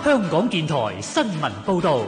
香港電台新聞報導。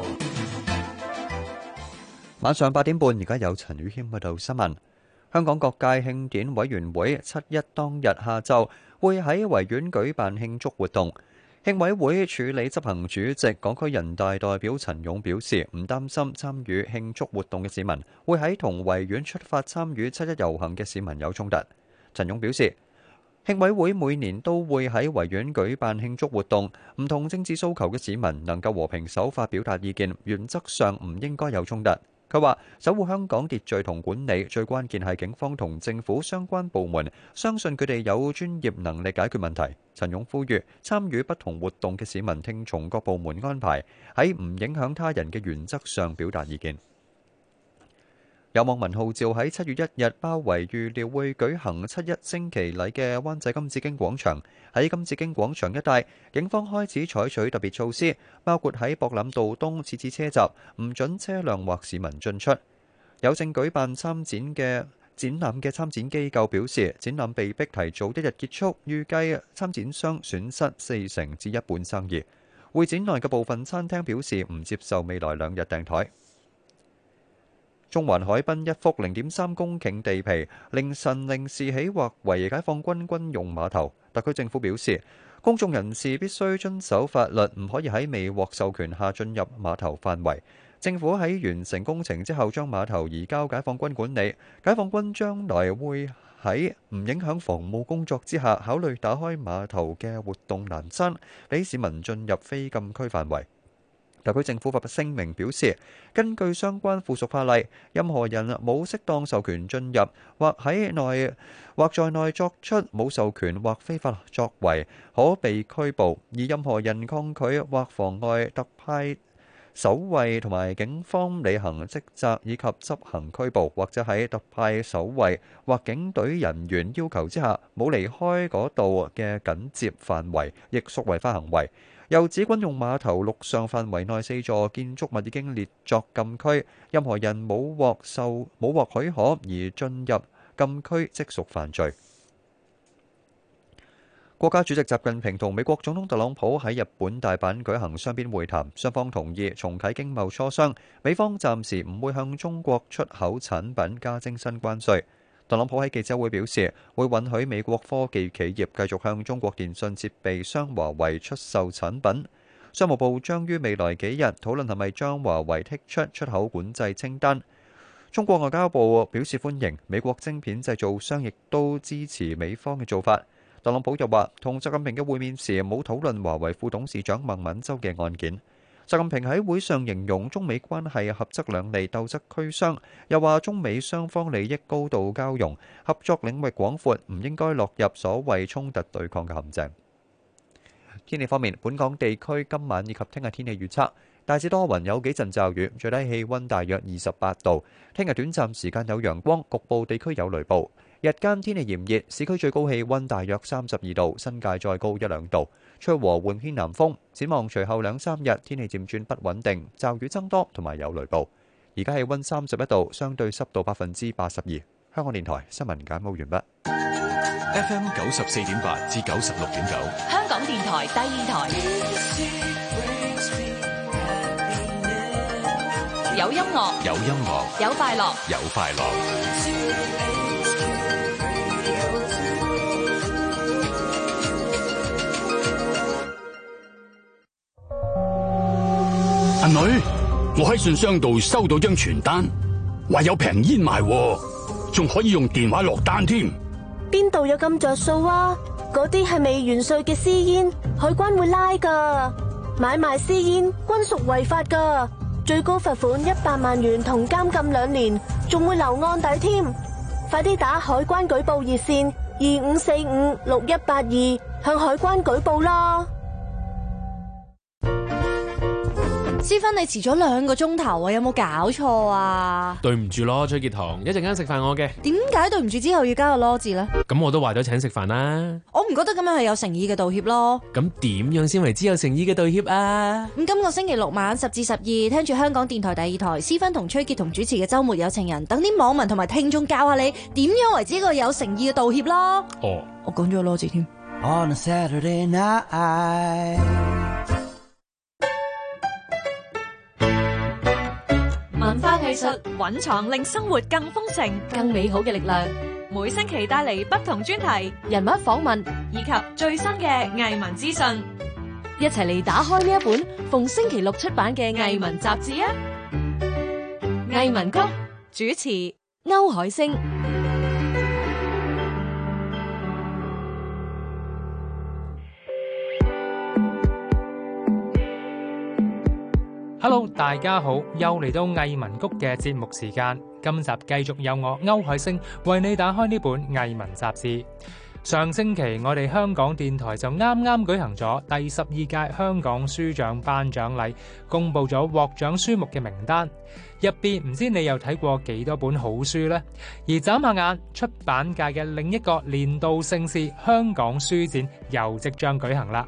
晚上8點半，而家有陳宇謙報道新聞。香港各界慶典委員會7·1當日下晝會喺維園舉辦慶祝活動。慶委會處理執行主席港區人大代表陳勇表示，唔擔心參與慶祝活動嘅市民會喺同維園出發參與7·1遊行嘅市民有衝突。陳勇表示，慶委會每年都會喺維園舉辦慶祝活動，唔同政治訴求嘅市民能夠和平守法表達意見，原則上唔應該有衝突。佢話：守護香港秩序同管理，最關鍵係警方同政府相關部門，相信佢哋有專業能力解決問題。陳勇呼籲參與不同活動嘅市民聽從各部門安排，喺唔影響他人嘅原則上表達意見。有網民號召喺7月1日包圍預料會舉行7·1升旗禮嘅灣仔金紫荊廣場。喺金紫荊廣場一帶，警方開始採取特別措施，包括喺博覽道東設置車閘，唔准車輛或市民進出。有正舉辦展覽嘅參展機構表示，展覽被迫提早1日結束，預計參展商損失40%至一半生意。會展內嘅部分餐廳表示唔接受未來2日訂台。中環海濱一幅0.3公頃地皮，凌晨0時起劃為解放軍軍用碼頭。特區政府表示，公眾人士必須遵守法律，唔可以喺未獲授權下進入碼頭範圍。政府喺完成工程之後，將碼頭移交解放軍管理。解放軍將來會喺唔影響防務工作之下，考慮打開碼頭嘅活動欄山，俾市民進入非禁區範圍。特區政府發聲明表示，根據相關附屬法例，任何人冇適當授權進入，或在內作出冇授權或非法作為，可被拘捕；而任何人抗拒或妨礙特派守衛同埋警方履行職責以及執行拘捕，或者喺特派守衛或警隊人員要求之下冇離開嗰度嘅緊接範圍，亦屬違法行為。又指軍用碼頭陸上範圍內4座建築物已經列作禁區，任何人冇獲許可而進入禁區即屬犯罪。國家主席習近平同美國總統特朗普喺日本大阪舉行雙邊會談，雙方同意重啟經貿磋商，美方暫時唔會向中國出口產品加徵新關稅。特朗普喺記者會表示，會允許美國科技企業繼續向中國電信設備商華為出售產品。商務部將於未來幾日討論係咪將華為剔出出口管制清單。中國外交部表示歡迎，美國晶片製造商亦都支持美方嘅做法。特朗普又話，同習近平嘅會面時冇討論華為副董事長孟晚舟嘅案件。習近平喺會上形容中美關係合則兩利，鬥則俱傷，又話中美雙方利益高度交融，合作領域廣闊，唔應該落入所謂衝突對抗嘅陷阱。天氣方面，本港地區今晚以及聽日天氣預測，大致多雲，有幾陣驟雨，最低氣溫大約28度。聽日短暫時間有陽光，局部地區有雷暴。日間天氣炎熱，市區最高氣溫大約32度，新界再高1-2度，吹和緩偏南風。展望隨後2-3日，天氣漸轉不穩定，驟雨增多同埋有雷暴。而家氣溫31度，相對濕度82%。香港電台新聞簡報完畢。 FM 94.8至96.9， 香港電台第二台。有音樂， 有音樂， 有快樂， 有快樂。 阿女，我喺信箱度收到張傳單，話有平煙賣，仲可以用電話落單添。 邊度有咁着數啊？嗰啲係未完稅嘅私煙，海關會拉噶。買賣私煙均屬違法噶，最高罰款100萬元同監禁2年，仲會留案底添。快啲打海關舉報熱線25456182向海關舉報啦。 思芬，你遲咗2個鐘頭啊，有冇搞錯啊？ 對唔住咯，崔潔彤，一陣間食飯我嘅。 點解對唔住之後要加個囉字呢？ 咁我都話咗請食飯啦。 我唔覺得咁樣係有誠意嘅道歉咯。 咁點樣先為之有誠意嘅道歉啊？ 咁今個星期6晚10至12，聽住香港電台第2台思芬同崔潔彤主持嘅週末有情人，等啲網民同埋聽眾教下你點樣為之一個有誠意嘅道歉咯。 哦， 我講咗個囉字添。 On a Saturday night 藝術蘊藏令生活更豐盛、 更美好嘅力量， 每星期帶嚟不同專題人物訪問以及最新嘅藝文資訊， 一齊嚟打開呢一本逢星期六出版嘅藝文雜誌啊！藝文谷主持歐海星。 Hello， 大家好，又嚟到藝文谷嘅節目時間。今集繼續有我歐海星為你打開呢本藝文雜誌。上星期我哋香港電台就啱啱舉行咗第12屆香港書獎頒獎禮，公布咗獲獎書目嘅名單。入邊唔知你又睇過幾多本好書呢？而眨下眼，出版界嘅另一個年度盛事香港書展又即將舉行啦。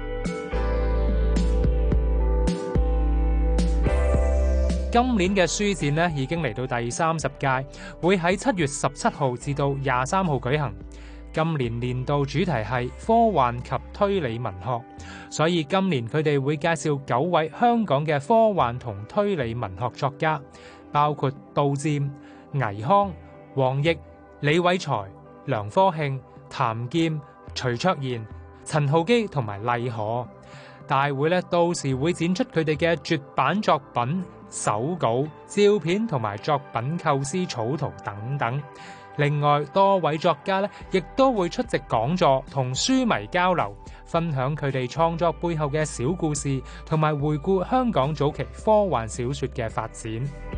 今年嘅書展呢已經嚟到第30屆，會喺7月17號至到23號舉行。今年年度主題係科幻及推理文學，所以今年佢哋會介紹9位香港嘅科幻同推理文學作家，包括杜漸、倪匡、黃易、李偉才、梁科慶、譚劍、徐卓賢、陳浩基同埋麗可。大會呢到時會展出佢哋嘅絕版作品、手稿、照片同埋作品構思草圖等等。另外，多位作家呢亦都會出席講座，同書迷交流，分享佢哋創作背後嘅小故事，同埋回顧香港早期科幻小說嘅發展。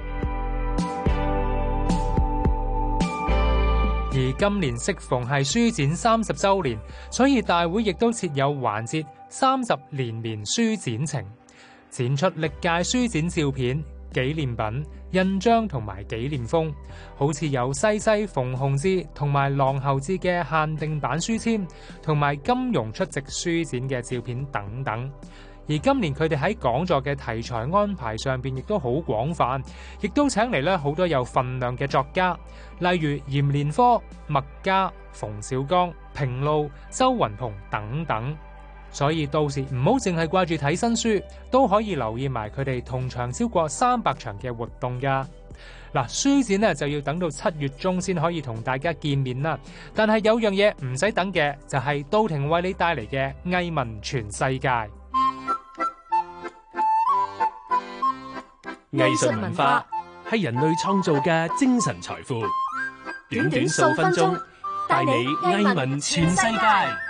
而今年適逢係書展30週年，所以大會亦都設有環節30連綿書展程，展出歷屆書展照片、紀念品、印章同埋紀念封，好似有西西馮洪志同埋郎侯志嘅限定版書籤，同埋金庸出席書展嘅照片等等。而今年佢哋喺講座嘅題材安排上邊亦都好廣泛，亦都請嚟咧好多有份量嘅作家，例如嚴連科、麥嘉、馮小剛、平路、周雲蓬等等。所以到時唔好淨係掛住睇新書，都可以留意埋佢哋同場超過300場嘅活動噶。嗱，書展呢就要等到7月中先可以同大家見面啦。但係有樣嘢唔使等嘅，就係到庭為你帶嚟嘅藝文全世界。 藝術文化係人類創造嘅精神財富。短短數分鐘，帶你藝文全世界。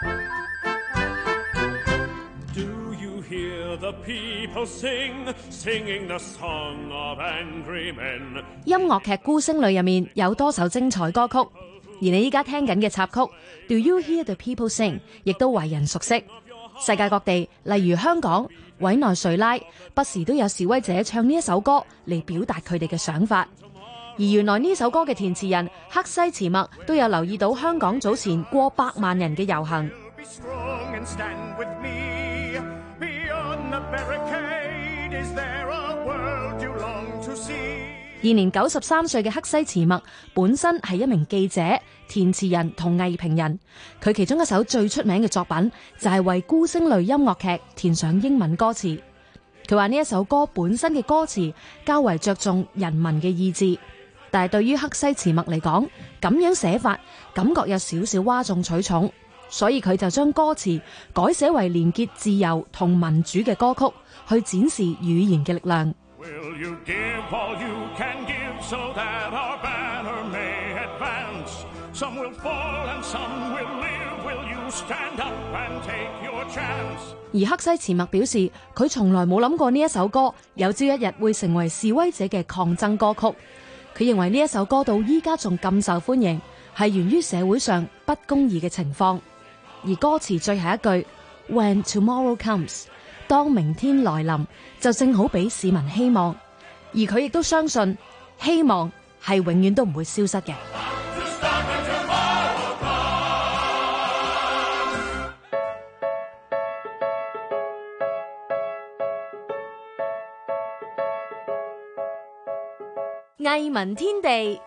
音樂劇《孤星淚》入面有多首精彩歌曲，而你依家聽緊嘅插曲 Do You Hear the People Sing 亦都為人熟悉。世界各地，例如香港、委內瑞拉，不時都有示威者唱呢一首歌嚟表達佢哋嘅想法。而原來呢首歌嘅填詞人黑西慈墨都有留意到香港早前過100萬人嘅遊行。現年93歲嘅黑西慈墨本身係一名記者、填詞人同藝評人，佢其中一首最出名嘅作品就係為《孤星淚》音樂劇填上英文歌詞。佢話呢一首歌本身嘅歌詞較為着重人民嘅意志，但係對於黑西慈墨嚟講，咁樣寫法感覺有少少嘩眾取寵，所以佢就將歌詞改寫為連結自由同民主嘅歌曲，去展示語言嘅力量。Will you give all you can give so that our banner may advance? Some will fall and some will live. Will you stand up and take your chance? 而黑西慈墨表示，佢從來冇諗過呢一首歌有朝一日會成為示威者嘅抗爭歌曲。佢認為呢一首歌到依家仲咁受歡迎，係源於社會上不公義嘅情況。而歌詞最後一句 When tomorrow comes，當明天來臨，就正好俾市民希望，而佢亦都相信希望係永遠都唔會消失嘅。藝文天地。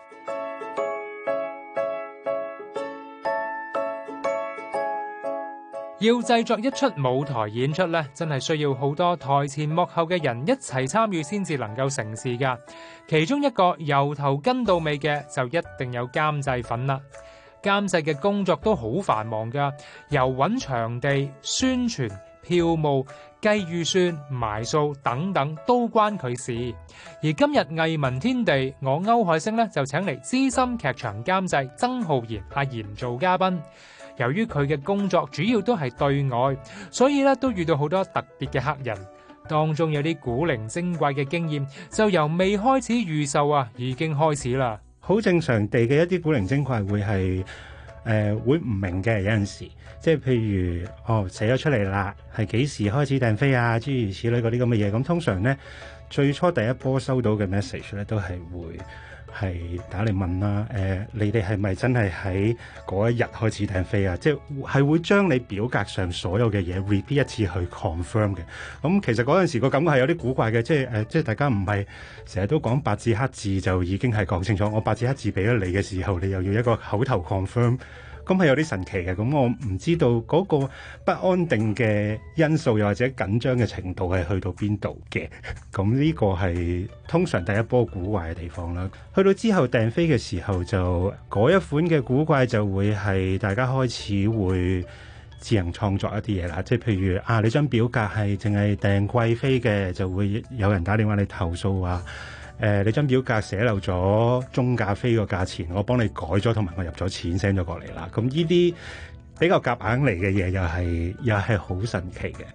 要製作一出舞台演出咧，真係需要好多台前幕後嘅人一齊參與先至能夠成事㗎。其中一個由頭跟到尾嘅就一定有監製份啦。監製嘅工作都好繁忙㗎，由揾場地、宣傳、票務、計預算、埋數等等都關佢事。而今日藝文天地，我歐海星咧就請嚟資深劇場監製曾浩然阿賢做嘉賓。由於佢嘅工作主要都係對外，所以咧都遇到好多特別嘅客人，當中有啲古靈精怪嘅經驗，就由未開始預售已經開始啦。 好正常地嘅一啲古靈精怪會係會唔明嘅，有陣時即係譬如寫咗出嚟啦，係幾時開始訂飛啊，諸如此類嗰啲咁嘅嘢。咁通常咧最初第一波收到嘅 message 咧都係會係打嚟問啦，你哋係咪真係喺嗰一日開始訂飛啊？即係會將你表格上所有嘅嘢 repeat 一次去 confirm 嘅。咁其實嗰陣時個感覺係有啲古怪嘅，即係大家唔係成日都講白字黑字就已經係講清楚，我白字黑字俾咗你嘅時候，你又要一個口頭 confirm。咁係有啲神奇嘅，咁我唔知道嗰個不安定嘅因素，又或者緊張嘅程度係去到邊度嘅。咁呢個係通常第一波古怪嘅地方啦。去到之後訂飛嘅時候，就嗰一款嘅古怪就會係大家開始會自行創作一啲嘢啦。即係譬如你張表格係淨係訂貴飛嘅，就會有人打電話嚟投訴話，你張表格寫漏咗中價飛個價錢，我幫你改咗，同埋我入咗錢 send 咗過嚟啦。咁呢啲比較夾硬嚟嘅嘢，又係好神奇嘅。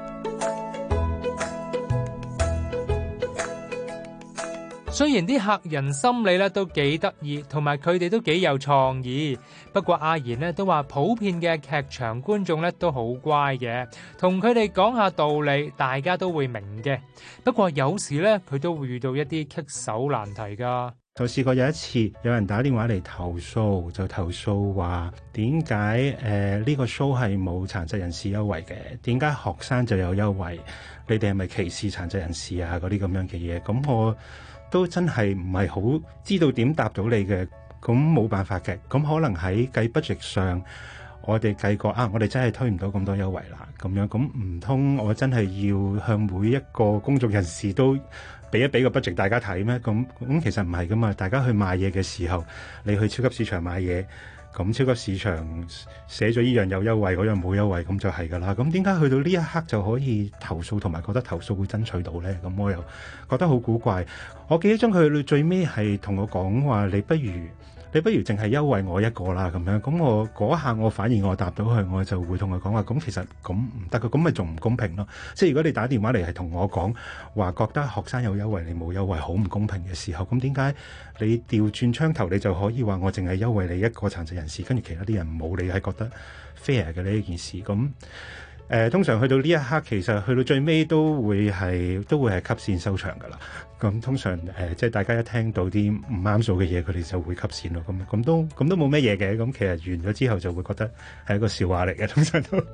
雖然啲客人心理咧都幾得意，同埋佢哋都幾有創意，不過阿賢咧都話普遍嘅劇場觀眾咧都好乖嘅，同佢哋講下道理，大家都會明嘅。不過有時咧佢都會遇到一啲棘手難題㗎。 就試過有一次有人打電話嚟投訴，就投訴話點解呢個 show 係冇殘疾人士優惠嘅？點解學生就有優惠？你哋係咪歧視殘疾人士啊？嗰啲咁樣嘅嘢，咁我都真係唔係好知道點答到你嘅。咁冇辦法嘅，咁可能喺計 budget 上，我哋計過我哋真係推唔到咁多優惠啦。咁樣，咁唔通我真係要向每一個公眾人士都俾個 budget 大家睇咩？咁其實唔係噶嘛。大家去買嘢嘅時候，你去超級市場買嘢，咁超級市場寫咗依樣有優惠，嗰樣冇優惠，咁就係噶啦。咁點解去到呢一刻就可以投訴，同埋覺得投訴會爭取到呢？咁我又覺得好古怪。我記憶中佢去到最尾係同我講話，你不如淨係優惠我一個啦，咁樣。咁我嗰下我反而我答到佢，我就會同佢講話，咁其實咁唔得嘅，咁咪仲唔公平咯？即係如果你打電話嚟係同我講話，覺得學生有優惠你冇優惠，好唔公平嘅時候，咁點解你調轉槍頭你就可以話我淨係優惠你一個殘疾人士，跟住其他啲人冇，你係覺得 fair 嘅呢一件事？咁通常去到呢一刻，其實去到最尾都會係cut線收場噶啦。咁通常即係大家一聽到啲唔啱數嘅嘢，佢哋就會cut線咯。咁都冇咩嘢嘅。咁其實完咗之後就會覺得係一個笑話嚟嘅，通常都。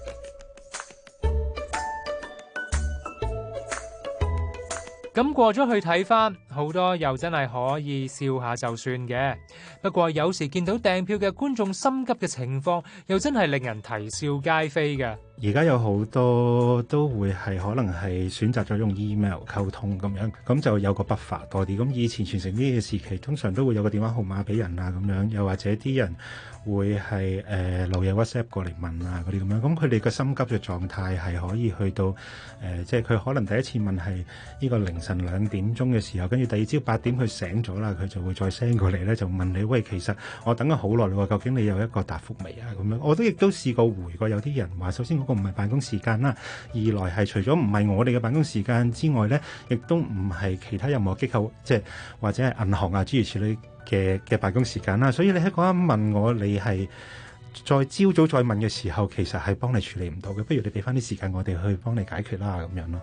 咁過咗去睇返，好多又真係可以笑下就算嘅。不過有時見到訂票嘅觀眾心急嘅情況，又真係令人啼笑皆非嘅。 而家有好多都會係可能係選擇咗用 email 溝通咁樣，咁就有個buffer多啲。咁以前傳承呢嘅時期，通常都會有個電話號碼俾人啊，咁樣，又或者啲人會係留嘢 WhatsApp 過嚟問啊嗰啲咁樣。咁佢哋個心急嘅狀態係可以去到即係佢可能第一次問係呢個凌晨2點鐘嘅時候，跟住第二朝8點佢醒咗啦，佢就會再 send 過嚟咧，就問你，喂，其實我等咗好耐啦，究竟你有一個答覆未啊？咁樣我都亦都試過回過有啲人話，首先嗰個唔係辦公時間啦，二來係除咗唔係我哋嘅辦公時間之外咧，亦都唔係其他任何機構，即係或者係銀行啊諸如此類嘅辦公時間啦。所以你喺嗰一問我，你係再朝早再問嘅時候，其實係幫你處理唔到嘅。不如你俾翻啲時間我哋去幫你解決啦，咁樣咯。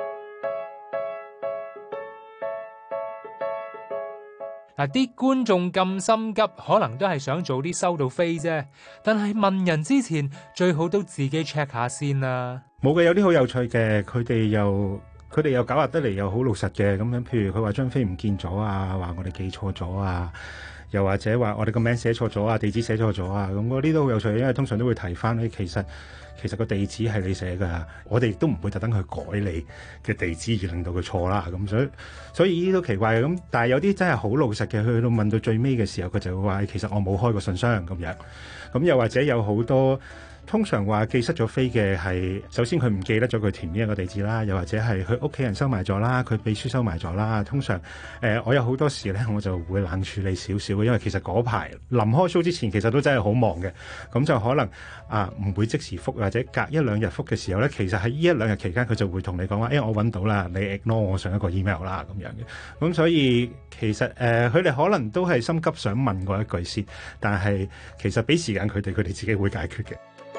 嗱，啲觀眾咁心急，可能都係想早啲收到飛啫。但係問人之前，最好都自己 check 下先啦。 冇嘅，有啲好有趣嘅，佢哋又狡猾得嚟，又好老實嘅咁樣。譬如佢話張飛唔見咗啊，話我哋記錯咗啊， 又或者話我哋個名寫錯咗啊，地址寫錯咗啊，咁嗰啲都好有趣，因為通常都會提翻咧，其實個地址係你寫㗎，我哋亦都唔會特登去改你嘅地址而令到佢錯啦。咁所以呢啲都奇怪嘅。咁但係有啲真係好老實嘅，去到問到最尾嘅時候，佢就會話其實我冇開過信箱咁樣。咁又或者有好多。通常話寄失咗飛嘅係，首先佢唔記得咗佢填邊一個地址啦，又或者係佢屋企人收埋咗啦，佢秘書收埋咗啦。通常我有好多時咧，我就會冷處理少少嘅，因為其實嗰排臨開 show 之前，其實都真係好忙嘅，咁就可能唔會即時覆，或者隔一兩日覆嘅時候咧，其實喺呢一兩日期間，佢就會同你講話，我揾到啦，你 ignore 我上一個 email 啦咁樣嘅。咁所以其實佢哋可能都係心急想問過一句先，但係其實俾時間佢哋自己會解決嘅。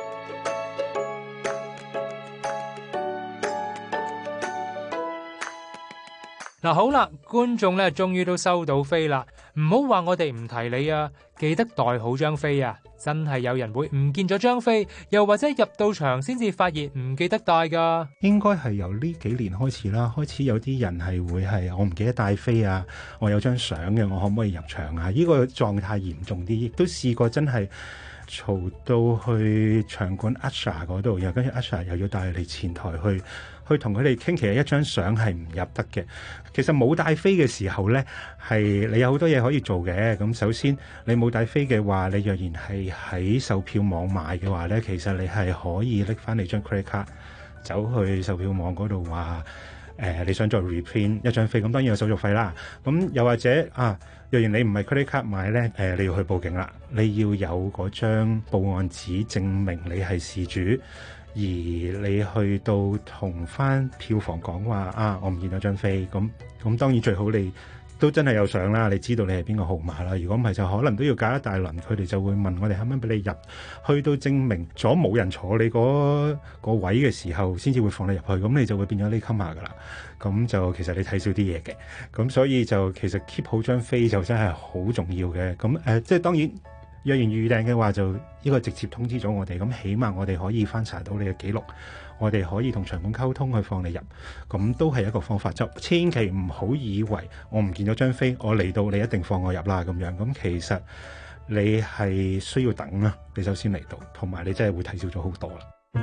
嗱，好啦，觀眾咧終於都收到飛啦，唔好話我哋唔提你啊，記得袋好張飛啊！真係有人會唔見咗張飛，又或者入到場先至發現唔記得帶噶。 應該係由呢幾年開始啦，開始有啲人係會係我唔記得帶飛啊，我有張相嘅，我可唔可以入場啊？呢個狀態嚴重啲，亦都試過真係嘈到去場館 Usher 嗰度，又跟住 Usher 又要帶你前台去同佢哋傾，其實一張相係唔入得嘅。其實冇帶飛嘅時候呢，係你有好多嘢可以做嘅。咁首先你冇帶飛嘅話，你若然係喺售票網買嘅話呢，其實你係可以拎翻你張 credit card 走去售票網嗰度話你想再 reprint 一張飛，咁當然有手續費啦。咁又或者若然你唔係 credit card 買呢，你要去報警啦，你要有嗰張報案紙證明你係事主。而你去到同翻票房講話我唔見咗張飛，咁當然最好你都真係有相啦，你知道你係邊個號碼啦。如果唔係就可能都要隔一大輪，佢哋就會問我哋可唔可以俾你入，去到證明咗冇人坐你嗰個位嘅時候，先至會放你入去，咁你就會變咗呢 comer 噶啦。咁就其實你睇少啲嘢嘅，咁所以就其實 keep 好張飛就真係好重要嘅。咁即係當然。若然預訂嘅話，就呢個直接通知咗我哋，咁起碼我哋可以翻查到你嘅記錄，我哋可以同場館溝通去放你入，咁都係一個方法。就千祈唔好以為我唔見咗張飛，我嚟到你一定放我入啦咁樣。咁其實你係需要等啦，你首先嚟到，同埋你真係會睇少咗好多啦。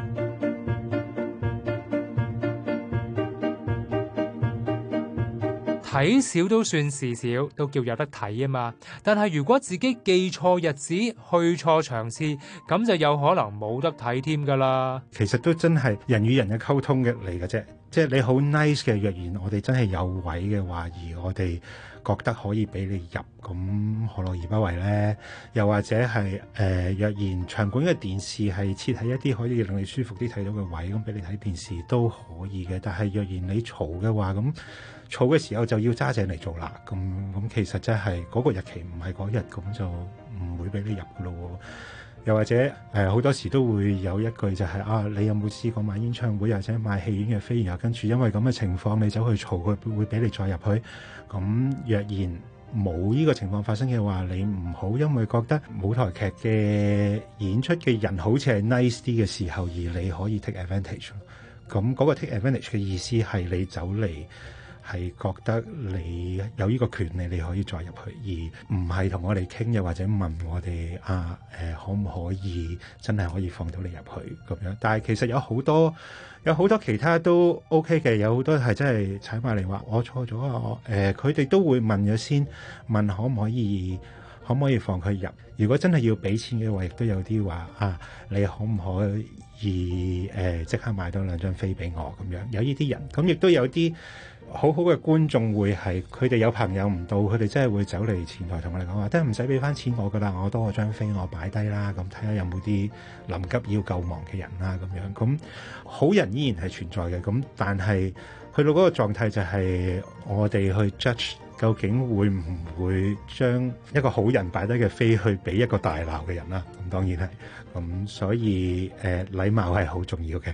睇少都算事少，都叫有得睇啊嘛。但係如果自己記錯日子、去錯場次，咁就有可能冇得睇添噶啦。 其實都真係人與人嘅溝通嘅嚟嘅啫，即係你好 nice 嘅。若然我哋真係有位嘅話，而我哋覺得可以俾你入，咁何樂而不為呢？又或者係若然場館嘅電視係設喺一啲可以令你舒服啲睇到嘅位，咁俾你睇電視都可以嘅。但係若然你嘈嘅話，咁嘈嘅時候就要揸正嚟做啦。咁其實真係嗰個日期唔係嗰日，咁就唔會俾你入噶咯。又或者好多時都會有一句就係你有冇試過買演唱會或者買戲院嘅飛，然後跟住因為咁嘅情況你走去嘈，佢會俾你再入去。咁若然冇呢個情況發生嘅話，你唔好因為覺得舞台劇嘅演出嘅人好似係 nice 啲嘅時候，而你可以 take advantage。咁嗰個 take advantage 嘅意思係你走嚟係覺得你有呢個權利，你可以再入去，而唔係同我哋傾，又或者問我哋可唔可以真係可以放到你入去咁樣。但係其實有好多其他都 OK 嘅，有好多係真係踩埋嚟話我錯咗啊！佢哋都會問咗先，問可唔可以放佢入。如果真係要俾錢嘅話，亦都有啲話你可唔可以即刻買多2張飛俾我咁樣。有呢啲人，咁亦都有啲好好嘅觀眾會係佢哋有朋友唔到，佢哋真係會走嚟前台同我哋講話，真係唔使俾翻錢我噶啦，我多咗張飛我擺低啦，咁睇下有冇啲臨急要救亡嘅人啦咁樣。咁好人依然係存在嘅，咁但係去到嗰個狀態就係我哋去 judge 究竟會唔會將一個好人擺低嘅飛去俾一個大鬧嘅人啦。咁當然係咁，所以禮貌係好重要嘅。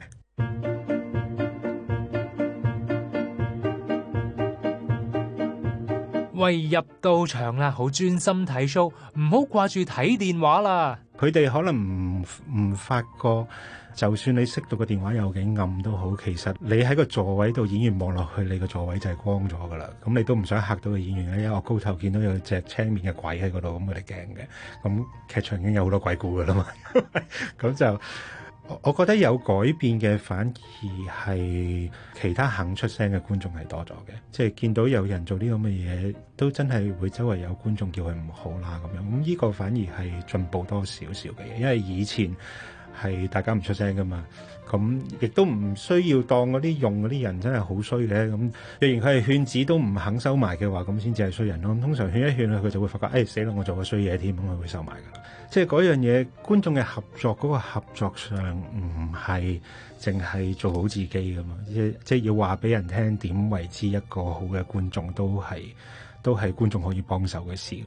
喂，入到場啦，好專心睇 show，唔好掛住睇電話啦。 佢哋可能唔發覺，就算你熄到個電話有幾暗都好，其實你喺個座位度，演員望落去，你個座位就係光咗噶啦。咁你都唔想嚇到個演員咧，因為我高頭見到有隻青面嘅鬼喺嗰度，咁佢哋驚嘅。咁劇場已經有好多鬼故噶啦嘛，咁就我覺得有改變嘅，反而係其他肯出聲嘅觀眾係多咗嘅，即係見到有人做啲咁嘅嘢，都真係會周圍有觀眾叫佢唔好啦咁樣。咁呢個反而係進步多少少嘅嘢，因為以前係大家唔出聲噶嘛，咁亦都唔需要當嗰啲用嗰啲人真係好衰嘅。咁若然佢係勸止都唔肯收埋嘅話，咁先至係衰人咯。咁通常勸一勸佢就會發覺，死啦，我做個衰嘢添，咁佢會收埋噶啦。即係嗰樣嘢，觀眾嘅合作嗰個合作上唔係淨係做好自己噶嘛，即係要話俾人聽點為之一個好嘅觀眾，都係觀眾可以幫手嘅事。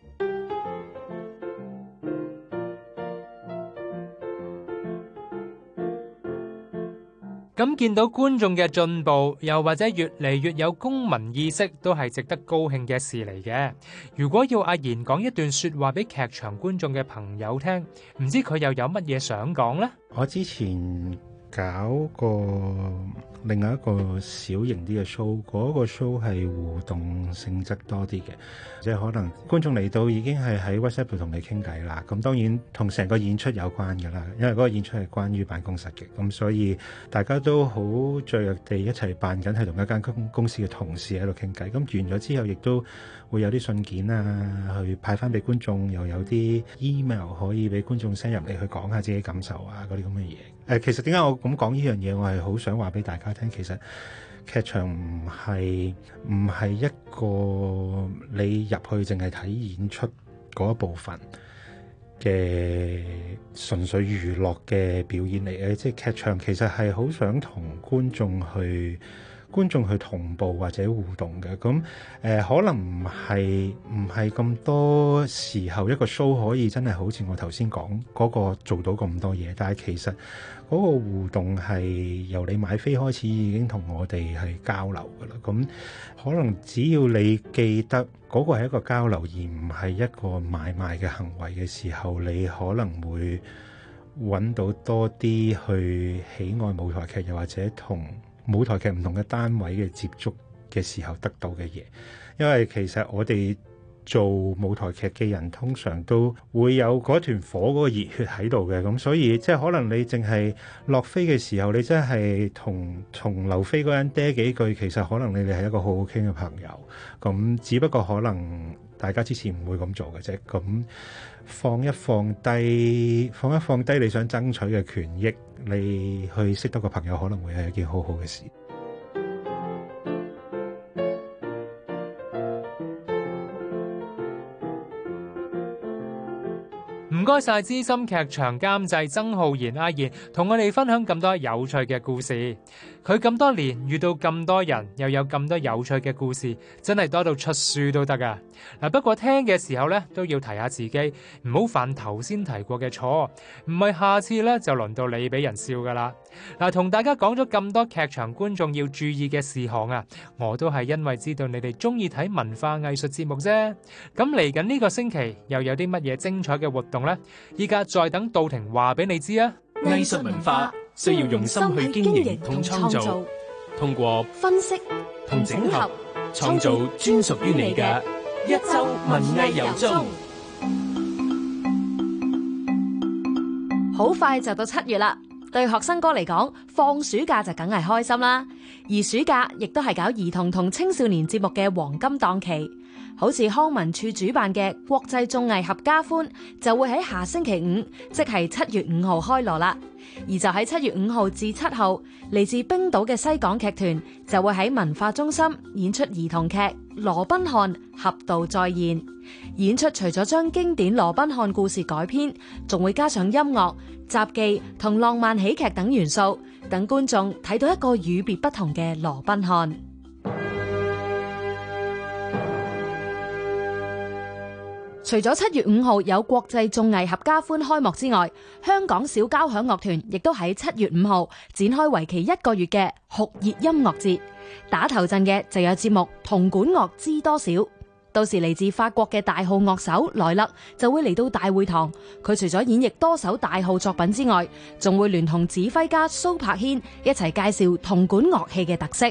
咁見到觀眾嘅進步，又或者越嚟越有公民意識，都係值得高興嘅事嚟嘅。如果要阿賢講一段說話俾劇場觀眾嘅朋友聽，唔知佢又有乜嘢想講呢？ 我之前搞過另外一個小型啲嘅 show， 嗰個 show 係互動性質多啲嘅，即係可能觀眾嚟到已經係喺 WhatsApp 度同你傾偈啦。咁當然同成個演出有關㗎啦，因為嗰個演出係關於辦公室嘅，咁所以大家都好雀躍地一齊扮緊係同一間公司嘅同事喺度傾偈。咁完咗之後，亦都會有啲信件啊，去派翻俾觀眾，又有啲 email 可以俾觀眾 send 入嚟去講下自己感受啊，嗰啲咁嘅嘢。其實點解我咁講呢樣嘢？我係好想話俾大家聽，其實劇場唔係一個你入去淨係睇演出嗰一部分嘅純粹娛樂嘅表演嚟嘅，即係劇場其實係好想同觀眾去同步或者互動嘅。咁可能唔係咁多時候一個 show 可以真係好似我頭先講嗰個做到咁多嘢，但係其實嗰個互動係由你買飛開始已經同我哋係交流㗎啦。咁可能只要你記得嗰個係一個交流，而唔係一個買賣嘅行為嘅時候，你可能會揾到多啲去喜愛舞台劇，又或者同舞台劇唔同嘅單位嘅接觸嘅時候得到嘅嘢。因為其實我哋做舞台劇嘅人通常都會有嗰團火嗰個熱血喺度嘅，咁所以即係可能你淨係落飛嘅時候，你真係同劉飛嗰人嗲幾句，其實可能你哋係一個好好傾嘅朋友。咁只不過可能大家之前唔會咁做嘅啫。咁放一放低你想爭取嘅權益，你去識得個朋友，可能會係一件好好嘅事。 唔該晒資深劇場監製曾浩然阿賢，同我哋分享咁多有趣嘅故事。佢咁多年遇到咁多人，又有咁多有趣嘅故事，真係多到出書都得噶。不過聽嘅時候咧，都要提下自己，唔好犯頭先提過嘅錯，唔係下次咧就輪到你俾人笑噶啦。同大家講咗咁多劇場觀眾要注意嘅事項啊，我都係因為知道你哋中意睇文化藝術節目啫。咁嚟緊呢個星期又有啲乜嘢精彩嘅活動呢？依家再等杜婷話俾你知啊！ 藝術文化需要用心去經營同創造，通過分析同整合，創造專屬於你嘅一周文藝遊蹤。 好快就到7月啦，對學生哥嚟講，放暑假就梗係開心啦。而暑假亦都係搞兒童同青少年節目嘅黃金檔期。好似康文署主辦嘅國際綜藝合家歡就會喺下星期5，即係7月5號開鑼啦。而就喺7月5號至7號，嚟自冰島嘅西港劇團就會喺文化中心演出兒童劇《羅賓漢俠盜再現》。演出除咗將經典羅賓漢故事改編，仲會加上音樂、雜技同浪漫喜劇等元素，等觀眾睇到一個與別不同嘅羅賓漢。除咗7月5號有國際綜藝合家歡開幕之外，香港小交響樂團亦都喺7月5號展開為期1個月嘅酷熱音樂節。打頭陣嘅就有節目《銅管樂知多少》， 到時嚟自法國嘅大號樂手萊勒就會嚟到大會堂。佢除咗演繹多首大號作品之外，仲會聯同指揮家蘇柏軒一齊介紹銅管樂器嘅特色。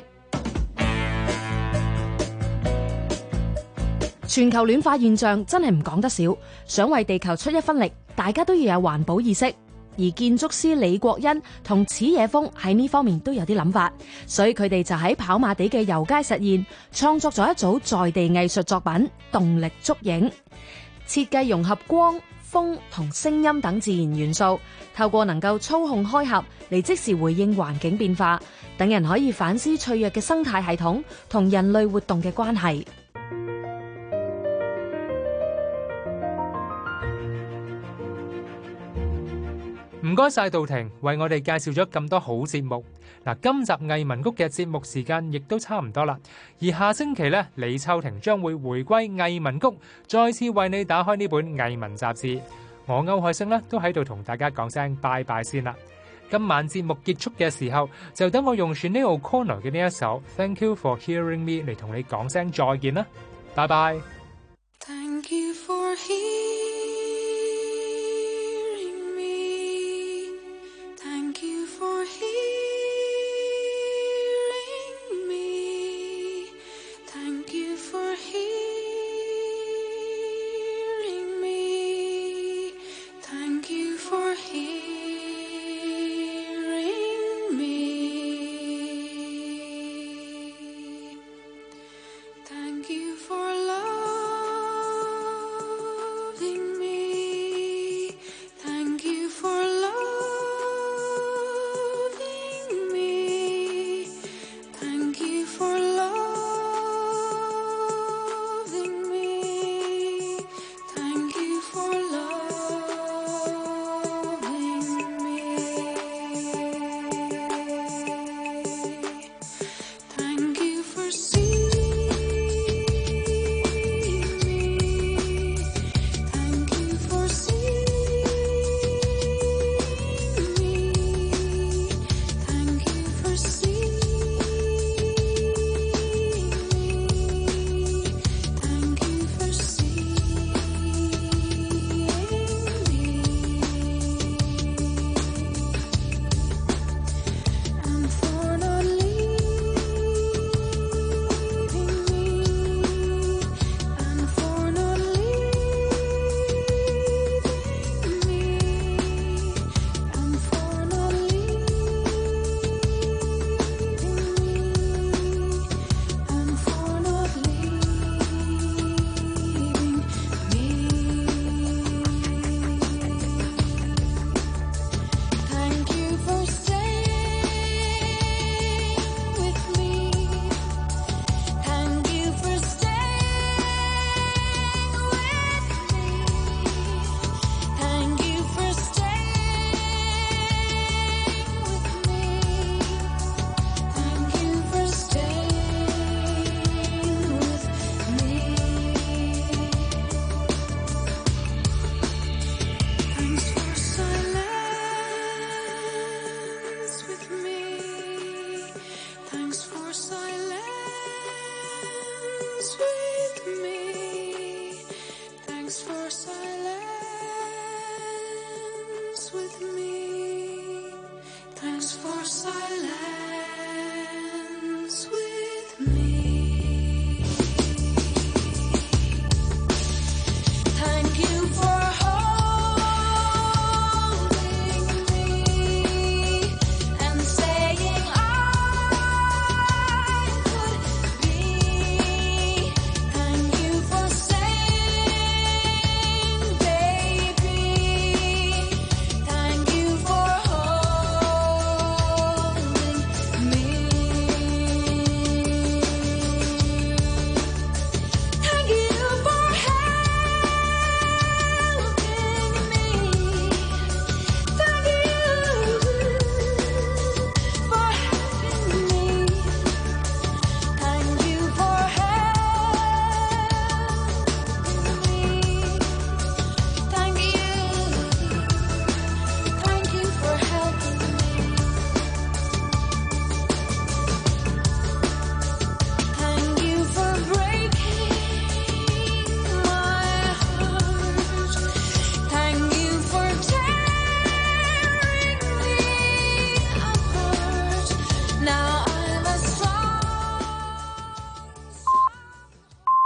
全球暖化現象真係唔講得少，想為地球出一分力，大家都要有環保意識。而建築師李國恩同矢野峰喺呢方面都有啲諗法，所以佢哋就喺跑馬地嘅遊街實驗創作咗一組在地藝術作品《動力捉影》，設計融合光、風同聲音等自然元素，透過能夠操控開合嚟即時回應環境變化，等人可以反思脆弱嘅生態系統同人類活動嘅關係。 唔該晒杜婷，為我哋介紹咗咁多好節目。嗱，今集藝文谷嘅節目時間亦都差唔多啦。而下星期呢，李秋婷將會回歸藝文谷，再次為你打開呢本藝文雜誌。我歐海星呢都喺度同大家講聲拜拜先啦。今晚節目結束嘅時候，就等我用 Sinéad O'Connor 嘅呢一首 Thank You for Hearing Me 嚟同你講聲再見啦。拜拜。 Thank you for Thank you for hearing me. Thank you for hearing me. Thank you for hearing me. Thank you for loving me. Thank you for silence with me. Thanks for silence.